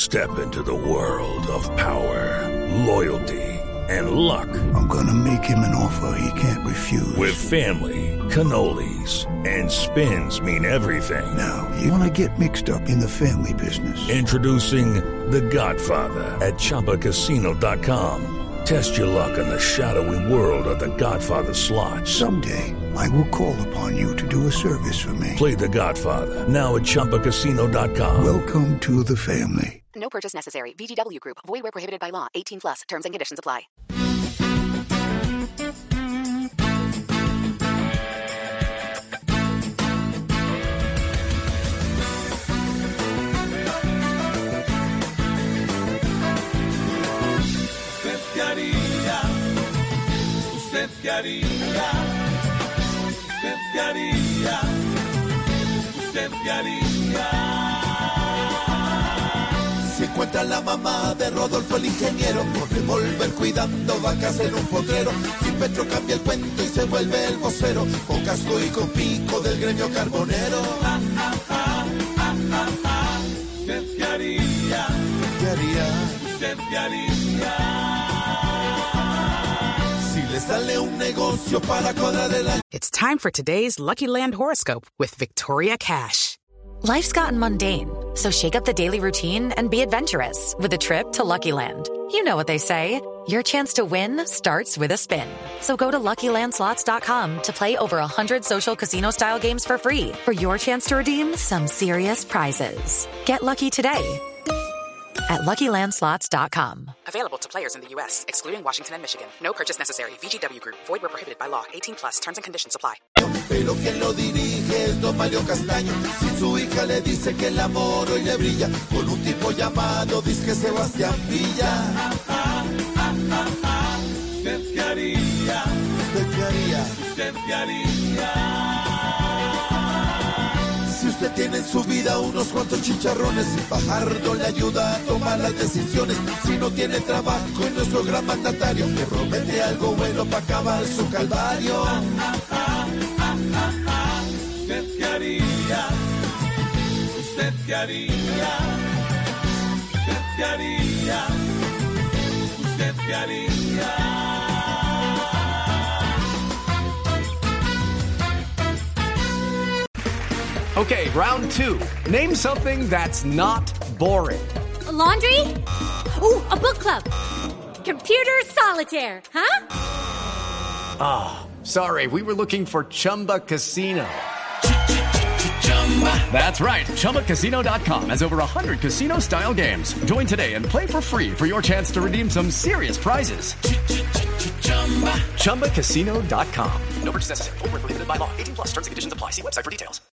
Step into the world of power, loyalty, and luck. I'm gonna make him an offer he can't refuse. With family, cannolis, and spins mean everything. Now, you wanna get mixed up in the family business. Introducing The Godfather at ChumbaCasino.com. Test your luck in the shadowy world of The Godfather slot. Someday, I will call upon you to do a service for me. Play The Godfather now at ChumbaCasino.com. Welcome to the family. No purchase necessary. VGW Group. Void where prohibited by law. 18 plus. Terms and conditions apply. ¿Usted qué haría? ¿Usted qué haría? ¿Usted qué haría? ¿Usted qué haría? Si encuentra la mamá de Rodolfo el ingeniero, con revólver cuidando vacas en un potrero, si Petro cambia el cuento y se vuelve el vocero, con casco y con pico del gremio carbonero. ¿Usted qué haría? ¿Qué haría? ¿Usted qué haría? Si le sale un negocio para cuadrar el año. It's time for today's Lucky Land horoscope with Victoria Cash. Life's gotten mundane, so shake up the daily routine and be adventurous with a trip to Lucky Land. You know what they say, your chance to win starts with a spin. So go to LuckyLandSlots.com to play over 100 social casino-style games for free for your chance to redeem some serious prizes. Get lucky today at LuckyLandSlots.com. Available to players in the U.S., excluding Washington and Michigan. No purchase necessary. VGW Group. Void where prohibited by law. 18 plus. Terms and conditions apply. Pero quien lo dirige es don Mario Castaño. Si su hija le dice que el amor hoy le brilla, con un tipo llamado disque Sebastián Villa. ¿Usted qué haría? ¿Usted qué haría? ¿Usted qué haría? Si usted tiene en su vida unos cuantos chicharrones, y Fajardo le ayuda a tomar las decisiones. Si no tiene trabajo y nuestro gran mandatario le promete algo bueno para acabar su calvario. ¿Usted qué haría? ¿Usted qué haría? ¿Usted qué haría? ¿Usted qué haría? Okay, round two. Name something that's not boring. A laundry? Ooh, a book club. Computer solitaire, huh? Ah, oh, sorry, we were looking for Chumba Casino. That's right, ChumbaCasino.com has over 100 casino-style games. Join today and play for free for your chance to redeem some serious prizes. ChumbaCasino.com. No purchase necessary. Void where prohibited by law. 18 plus. Terms and conditions apply. See website for details.